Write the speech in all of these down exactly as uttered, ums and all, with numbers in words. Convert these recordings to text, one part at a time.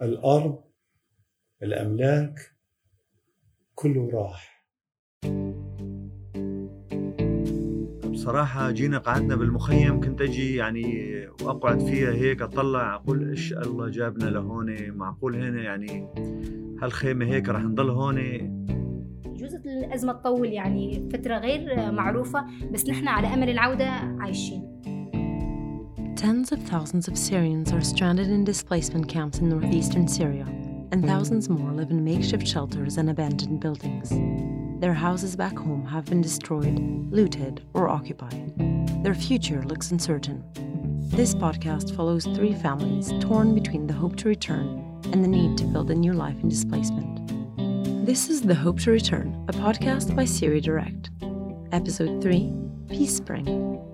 الأرض، الأملاك، كله راح. بصراحة جينا قعدنا بالمخيم، كنت أجي يعني وأقعد فيها هيك أطلع أقول إيش الله جابنا لهون، معقول هنا يعني هالخيمة هيك رح نضل هون. جزء الأزمة تطول يعني فترة غير معروفة، بس نحن على أمل العودة عايشين. Tens of thousands of Syrians are stranded in displacement camps in northeastern Syria, and thousands more live in makeshift shelters and abandoned buildings. Their houses back home have been destroyed, looted, or occupied. Their future looks uncertain. This podcast follows three families torn between the hope to return and the need to build a new life in displacement. This is The Hope to Return, a podcast by Syria Direct. Episode three, Peace Spring.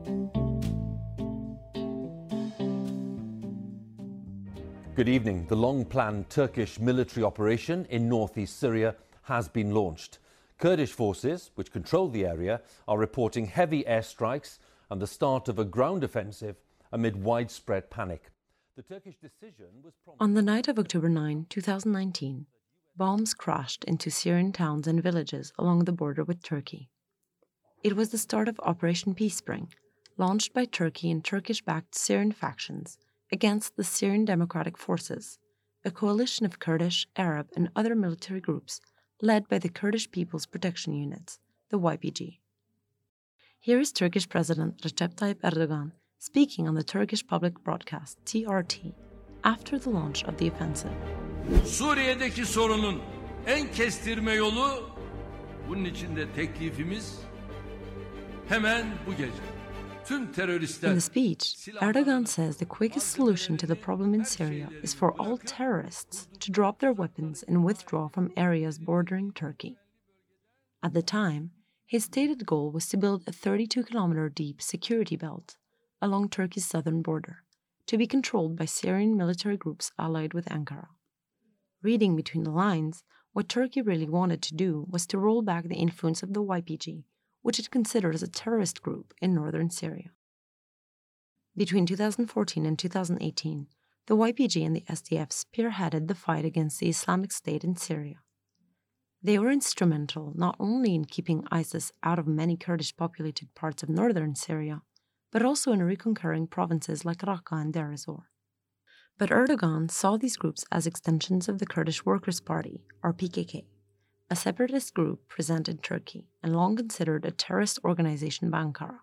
Good evening. The long-planned Turkish military operation in northeast Syria has been launched. Kurdish forces, which control the area, are reporting heavy airstrikes and the start of a ground offensive amid widespread panic. The Turkish decision was prompted... On the night of October ninth, twenty nineteen, bombs crashed into Syrian towns and villages along the border with Turkey. It was the start of Operation Peace Spring, launched by Turkey and Turkish-backed Syrian factions against the Syrian Democratic Forces, a coalition of Kurdish, Arab, and other military groups led by the Kurdish People's Protection Units, the Y P G. Here is Turkish President Recep Tayyip Erdogan speaking on the Turkish public broadcast T R T after the launch of the offensive. Suriye'deki sorunun en kestirme yolu, bunun içinde teklifimiz hemen bu gece. In the speech, Erdogan says the quickest solution to the problem in Syria is for all terrorists to drop their weapons and withdraw from areas bordering Turkey. At the time, his stated goal was to build a thirty-two kilometer deep security belt along Turkey's southern border, to be controlled by Syrian military groups allied with Ankara. Reading between the lines, what Turkey really wanted to do was to roll back the influence of the Y P G, which it considered as a terrorist group in northern Syria. Between two thousand fourteen and two thousand eighteen, the Y P G and the S D F spearheaded the fight against the Islamic State in Syria. They were instrumental not only in keeping ISIS out of many Kurdish-populated parts of northern Syria, but also in reconquering provinces like Raqqa and Deir ez-Zor. But Erdogan saw these groups as extensions of the Kurdish Workers' Party, or P K K, a separatist group present in Turkey and long considered a terrorist organization by Ankara.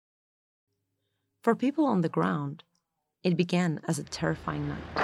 For people on the ground, it began as a terrifying night.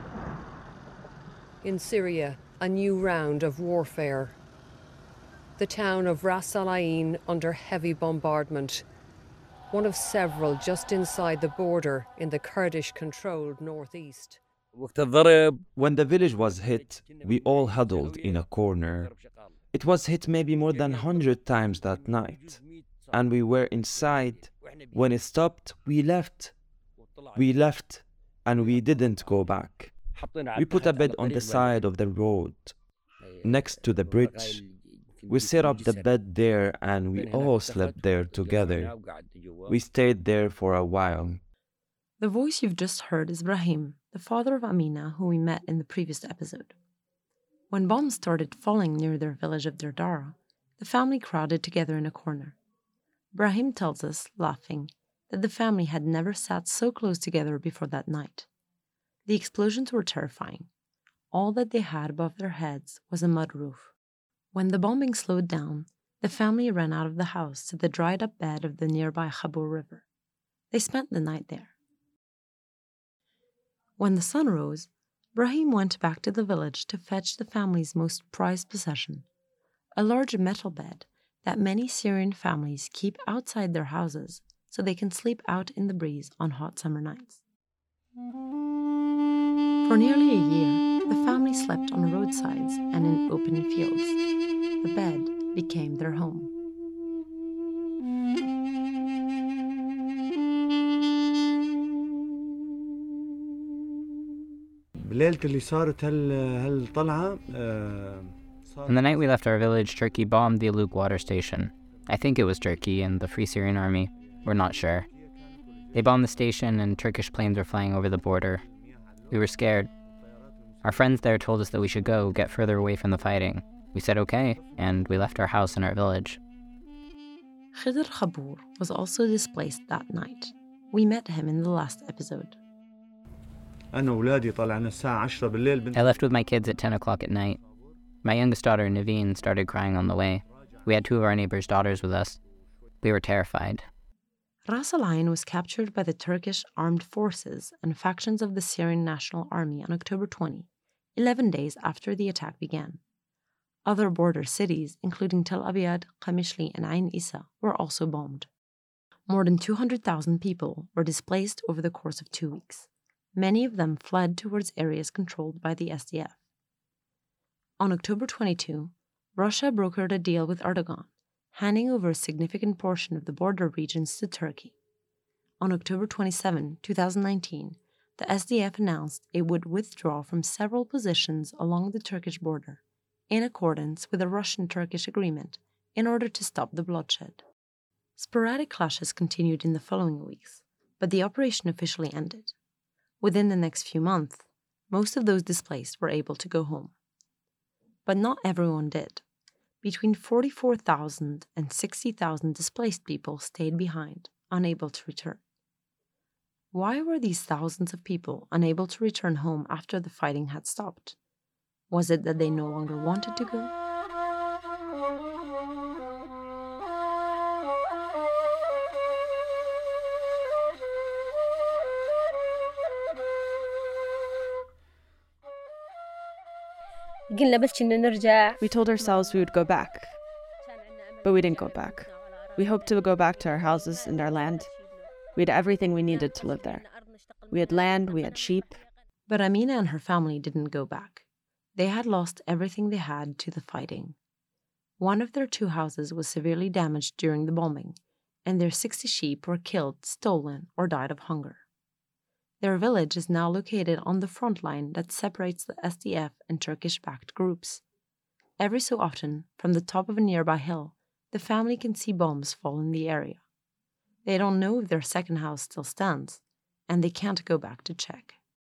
In Syria, a new round of warfare. The town of Ras Al Ain under heavy bombardment, one of several just inside the border in the Kurdish-controlled northeast. When the village was hit, we all huddled in a corner. It was hit maybe more than one hundred times that night. And we were inside. When it stopped, we left. We left, and we didn't go back. We put a bed on the side of the road, next to the bridge. We set up the bed there, and we all slept there together. We stayed there for a while. The voice you've just heard is Brahim, the father of Amina, who we met in the previous episode. When bombs started falling near their village of Dardara, the family crowded together in a corner. Brahim tells us, laughing, that the family had never sat so close together before that night. The explosions were terrifying. All that they had above their heads was a mud roof. When the bombing slowed down, the family ran out of the house to the dried-up bed of the nearby Khabur River. They spent the night there. When the sun rose, Brahim went back to the village to fetch the family's most prized possession, a large metal bed that many Syrian families keep outside their houses so they can sleep out in the breeze on hot summer nights. For nearly a year, the family slept on roadsides and in open fields. The bed became their home. On the night we left our village, Turkey bombed the Aluk water station. I think it was Turkey and the Free Syrian Army. We're not sure. They bombed the station and Turkish planes were flying over the border. We were scared. Our friends there told us that we should go get further away from the fighting. We said okay, and we left our house and our village. Khidr Khabour was also displaced that night. We met him in the last episode. I left with my kids at ten o'clock at night. My youngest daughter, Naveen, started crying on the way. We had two of our neighbors' daughters with us. We were terrified. Ras Al Ain was captured by the Turkish armed forces and factions of the Syrian National Army on October twentieth, eleven days after the attack began. Other border cities, including Tel Abyad, Qamishli, and Ain Issa, were also bombed. More than two hundred thousand people were displaced over the course of two weeks. Many of them fled towards areas controlled by the S D F. On October twenty-second, Russia brokered a deal with Erdogan, handing over a significant portion of the border regions to Turkey. On October twenty-seventh, twenty nineteen, the S D F announced it would withdraw from several positions along the Turkish border, in accordance with a Russian-Turkish agreement, in order to stop the bloodshed. Sporadic clashes continued in the following weeks, but the operation officially ended. Within the next few months, most of those displaced were able to go home. But not everyone did. Between forty-four thousand and sixty thousand displaced people stayed behind, unable to return. Why were these thousands of people unable to return home after the fighting had stopped? Was it that they no longer wanted to go? We told ourselves we would go back, but we didn't go back. We hoped to go back to our houses and our land. We had everything we needed to live there. We had land, we had sheep. But Amina and her family didn't go back. They had lost everything they had to the fighting. One of their two houses was severely damaged during the bombing, and their sixty sheep were killed, stolen, or died of hunger. Their village is now located on the front line that separates the S D F and Turkish-backed groups. Every so often, from the top of a nearby hill, the family can see bombs fall in the area. They don't know if their second house still stands, and they can't go back to check.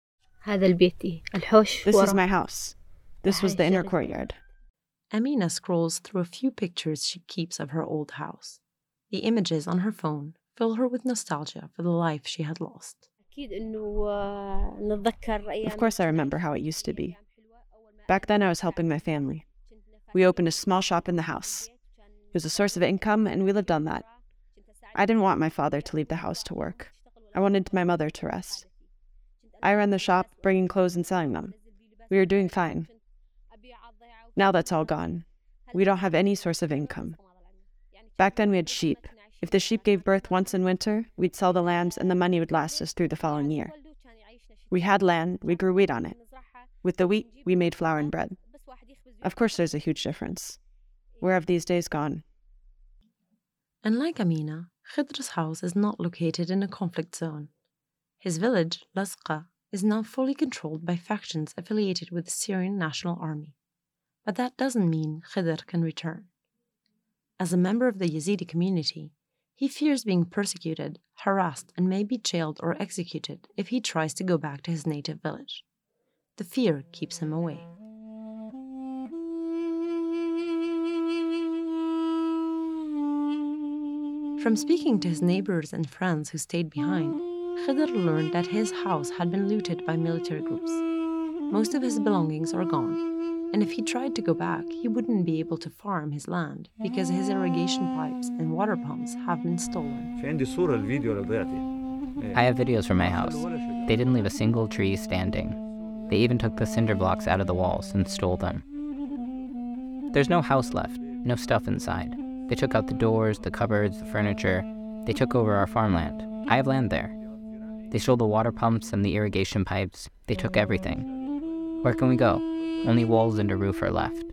This is my house. This was the inner courtyard. Amina scrolls through a few pictures she keeps of her old house. The images on her phone fill her with nostalgia for the life she had lost. Of course I remember how it used to be. Back then I was helping my family. We opened a small shop in the house. It was a source of income and we lived on that. I didn't want my father to leave the house to work. I wanted my mother to rest. I ran the shop, bringing clothes and selling them. We were doing fine. Now that's all gone. We don't have any source of income. Back then we had sheep. If the sheep gave birth once in winter, we'd sell the lambs and the money would last us through the following year. We had land, we grew wheat on it. With the wheat, we made flour and bread. Of course there's a huge difference. Where have these days gone? Unlike Amina, Khidr's house is not located in a conflict zone. His village, Lasqa, is now fully controlled by factions affiliated with the Syrian National Army. But that doesn't mean Khidr can return. As a member of the Yazidi community, he fears being persecuted, harassed, and may be jailed or executed if he tries to go back to his native village. The fear keeps him away. From speaking to his neighbors and friends who stayed behind, Khidr learned that his house had been looted by military groups. Most of his belongings are gone, and if he tried to go back, he wouldn't be able to farm his land because his irrigation pipes and water pumps have been stolen. I have videos from my house. They didn't leave a single tree standing. They even took the cinder blocks out of the walls and stole them. There's no house left, no stuff inside. They took out the doors, the cupboards, the furniture. They took over our farmland. I have land there. They stole the water pumps and the irrigation pipes. They took everything. Where can we go? Only walls and a roof are left.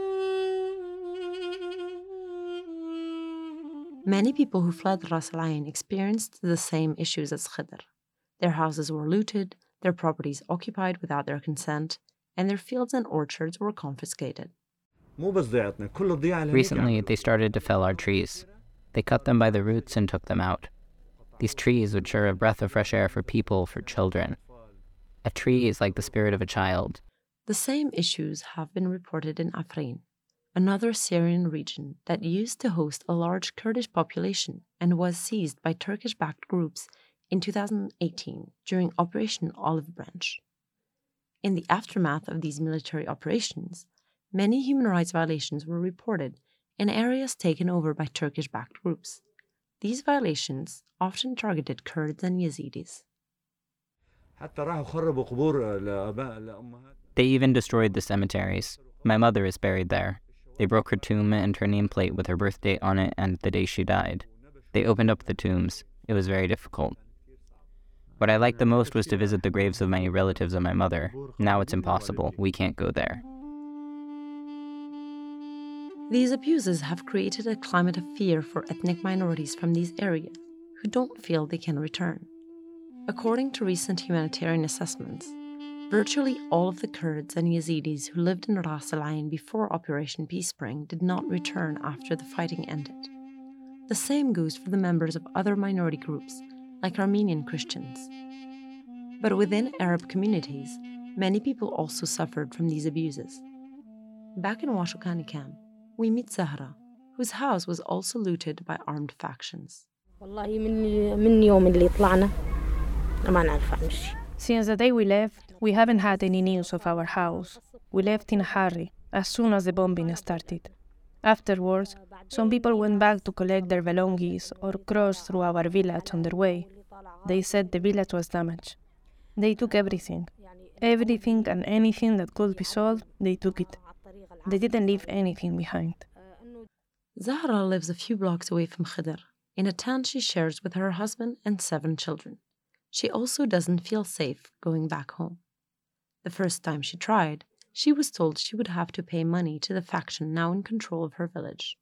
Many people who fled Ras Al Ain experienced the same issues as Khidr. Their houses were looted, their properties occupied without their consent, and their fields and orchards were confiscated. Recently, they started to fell our trees. They cut them by the roots and took them out. These trees, which are a breath of fresh air for people, for children. A tree is like the spirit of a child. The same issues have been reported in Afrin, another Syrian region that used to host a large Kurdish population and was seized by Turkish-backed groups in two thousand eighteen during Operation Olive Branch. In the aftermath of these military operations, many human rights violations were reported in areas taken over by Turkish-backed groups. These violations often targeted Kurds and Yazidis. They even destroyed the cemeteries. My mother is buried there. They broke her tomb and her nameplate with her birth date on it and the day she died. They opened up the tombs. It was very difficult. What I liked the most was to visit the graves of many relatives of my mother. Now it's impossible. We can't go there. These abuses have created a climate of fear for ethnic minorities from these areas who don't feel they can return. According to recent humanitarian assessments, virtually all of the Kurds and Yazidis who lived in Ras Al Ain before Operation Peace Spring did not return after the fighting ended. The same goes for the members of other minority groups, like Armenian Christians. But within Arab communities, many people also suffered from these abuses. Back in Washokani camp, we meet Zahra, whose house was also looted by armed factions. Since the day we left, we haven't had any news of our house. We left in a hurry, as soon as the bombing started. Afterwards, some people went back to collect their belongings or crossed through our village on their way. They said the village was damaged. They took everything. Everything and anything that could be sold, they took it. They didn't leave anything behind. Zahra lives a few blocks away from Khidr, in a town she shares with her husband and seven children. She also doesn't feel safe going back home. The first time she tried, she was told she would have to pay money to the faction now in control of her village.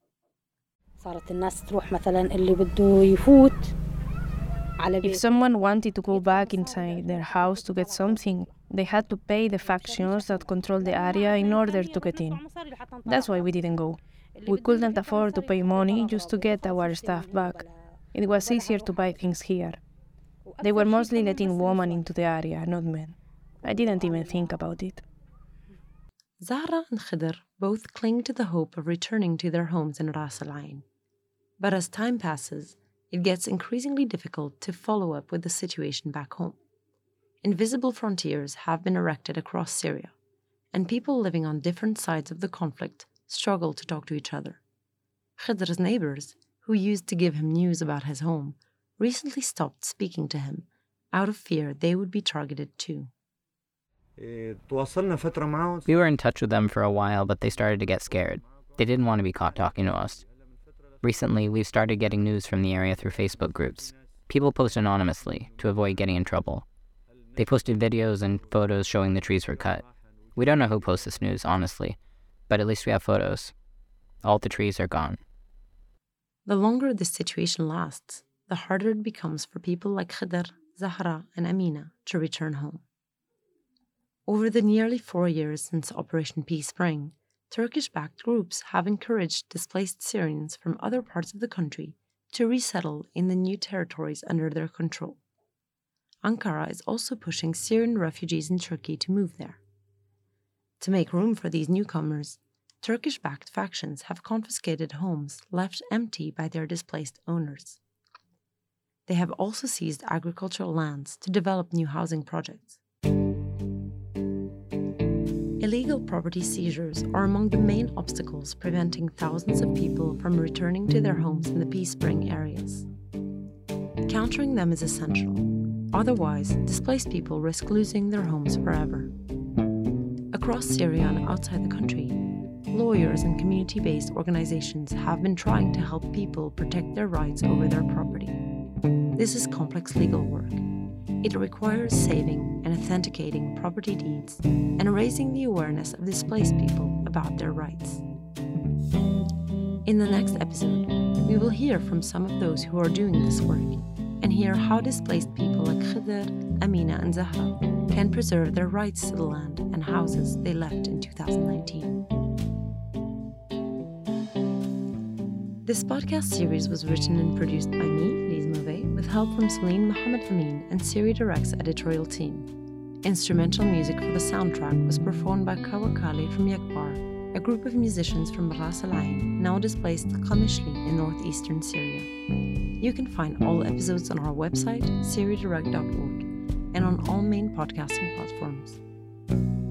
If someone wanted to go back inside their house to get something, they had to pay the factions that control the area in order to get in. That's why we didn't go. We couldn't afford to pay money just to get our stuff back. It was easier to buy things here. They were mostly letting women into the area, not men. I didn't even think about it. Zahra and Khidr both cling to the hope of returning to their homes in Ras Al Ain. But as time passes, it gets increasingly difficult to follow up with the situation back home. Invisible frontiers have been erected across Syria, and people living on different sides of the conflict struggle to talk to each other. Khidr's neighbors, who used to give him news about his home, recently stopped speaking to him out of fear they would be targeted too. We were in touch with them for a while, but they started to get scared. They didn't want to be caught talking to us. Recently, we've started getting news from the area through Facebook groups. People post anonymously to avoid getting in trouble. They posted videos and photos showing the trees were cut. We don't know who posts this news, honestly, but at least we have photos. All the trees are gone. The longer this situation lasts, the harder it becomes for people like Khidr, Zahra, and Amina to return home. Over the nearly four years since Operation Peace Spring, Turkish-backed groups have encouraged displaced Syrians from other parts of the country to resettle in the new territories under their control. Ankara is also pushing Syrian refugees in Turkey to move there. To make room for these newcomers, Turkish-backed factions have confiscated homes left empty by their displaced owners. They have also seized agricultural lands to develop new housing projects. Illegal property seizures are among the main obstacles preventing thousands of people from returning to their homes in the Peace Spring areas. Countering them is essential. Otherwise, displaced people risk losing their homes forever. Across Syria and outside the country, lawyers and community-based organizations have been trying to help people protect their rights over their property. This is complex legal work. It requires saving and authenticating property deeds and raising the awareness of displaced people about their rights. In the next episode, we will hear from some of those who are doing this work and hear how displaced people like Khidr, Amina, and Zahra can preserve their rights to the land and houses they left in two thousand nineteen. This podcast series was written and produced by me, Liz Mauvais, with help from Celine Mohammed Amin and Syria Direct's editorial team. Instrumental music for the soundtrack was performed by Kawakali from Yekbar, a group of musicians from Ras Al Ain, now displaced Qamishli in northeastern Syria. You can find all episodes on our website, syria direct dot org, and on all main podcasting platforms.